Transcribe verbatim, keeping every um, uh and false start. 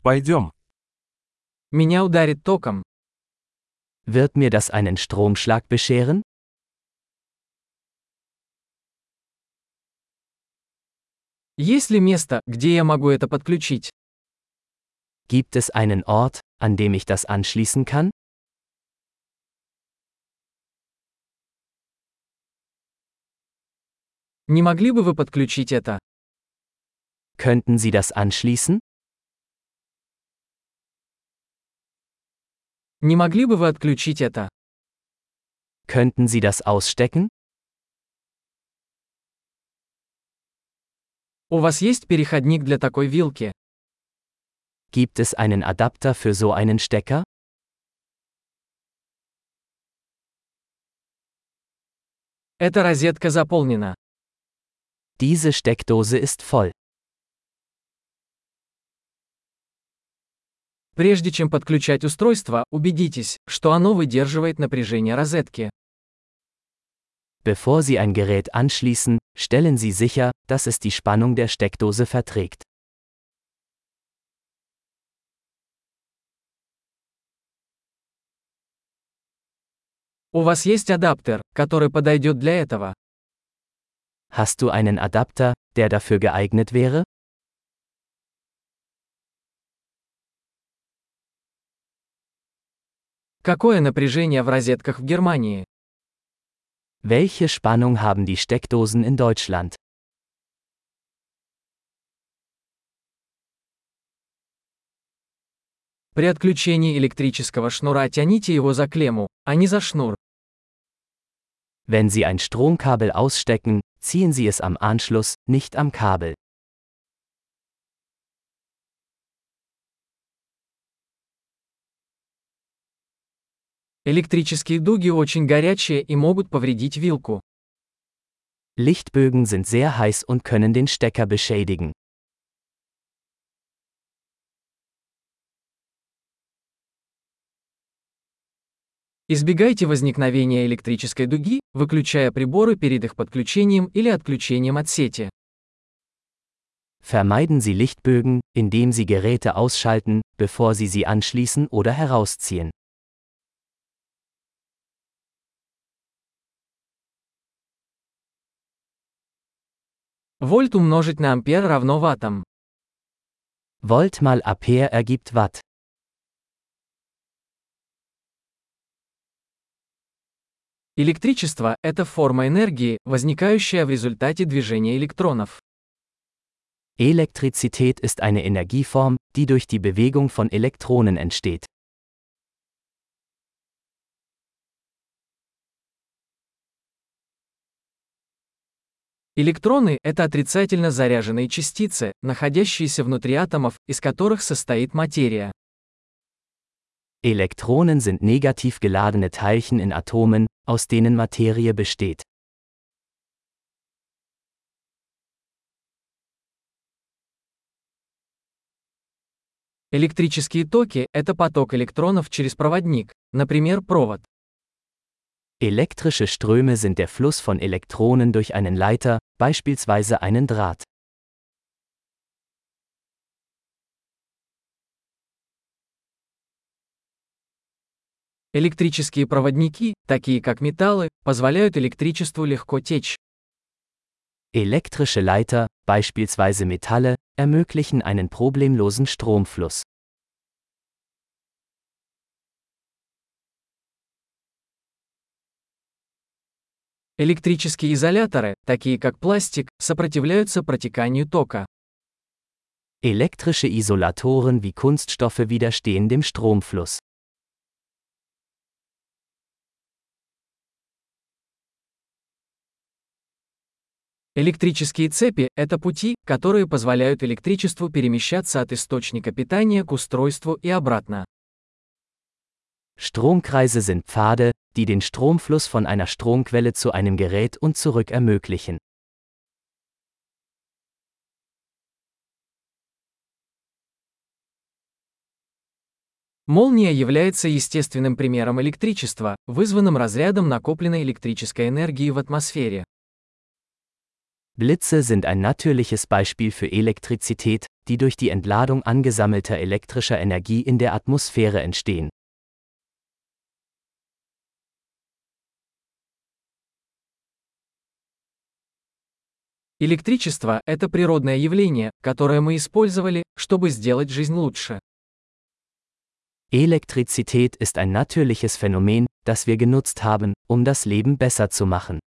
Пойдем. Меня ударит током. Wird mir das einen Stromschlag bescheren? Есть ли место, где я могу это подключить? Gibt es einen Ort, an dem ich das anschließen kann? Не могли бы вы подключить это? Könnten Sie das anschließen? Не могли бы вы отключить это? Könnten Sie das ausstecken? У вас есть переходник для такой вилки? Gibt es einen Adapter für so einen Stecker? Эта розетка заполнена. Diese Steckdose ist voll. Прежде чем подключать устройство, убедитесь, что оно выдерживает напряжение розетки. Bevor Sie ein Gerät anschließen, stellen Sie sicher, dass es die Spannung der Steckdose verträgt. У вас есть адаптер, который подойдет для этого? Hast du einen Adapter, der dafür geeignet wäre? Какое напряжение в розетках в Германии? Welche Spannung haben die Steckdosen in Deutschland? При отключении электрического шнура тяните его за клемму, а не за шнур. Wenn Sie ein Stromkabel ausstecken, ziehen Sie es am Anschluss, nicht am Kabel. Электрические дуги очень горячие и могут повредить вилку. Lichtbögen sind sehr heiß und können den Stecker beschädigen. Избегайте возникновения электрической дуги, выключая приборы перед их подключением или отключением от сети. Vermeiden Sie Lichtbögen, indem Sie Geräte ausschalten, bevor Sie sie anschließen oder herausziehen. Вольт умножить на ампер равно ваттам. Volt mal Ampere ergibt Watt. Электричество – это форма энергии, возникающая в результате движения электронов. Elektrizität ist eine Energieform, die durch die Bewegung von Elektronen entsteht. Электроны – это отрицательно заряженные частицы, находящиеся внутри атомов, из которых состоит материя. Elektronen sind negativ geladene Teilchen in Atomen, aus denen Materie besteht. Электрические токи – это поток электронов через проводник, например, провод. Elektrische Ströme sind der Fluss von Elektronen durch einen Leiter, beispielsweise einen Draht. Электрические проводники, такие как металлы, позволяют электричеству легко течь. Elektrische Leiter, beispielsweise Metalle, ermöglichen einen problemlosen Stromfluss. Электрические изоляторы, такие как пластик, сопротивляются протеканию тока. Elektrische Isolatoren wie Kunststoffe widerstehen dem Stromfluss. Электрические цепи – это пути, которые позволяют электричеству перемещаться от источника питания к устройству и обратно. Stromkreise sind Pfade, die den Stromfluss von einer Stromquelle zu einem Gerät und zurück ermöglichen. Молния является естественным примером электричества, вызванным разрядом накопленной электрической энергии в атмосфере. Blitze sind ein natürliches Beispiel für Elektrizität, die durch die Entladung angesammelter elektrischer Energie in der Atmosphäre entstehen. Электричество – это природное явление, которое мы использовали, чтобы сделать жизнь лучше. Elektrizität ist ein natürliches Phänomen, das wir genutzt haben, um das Leben besser zu machen.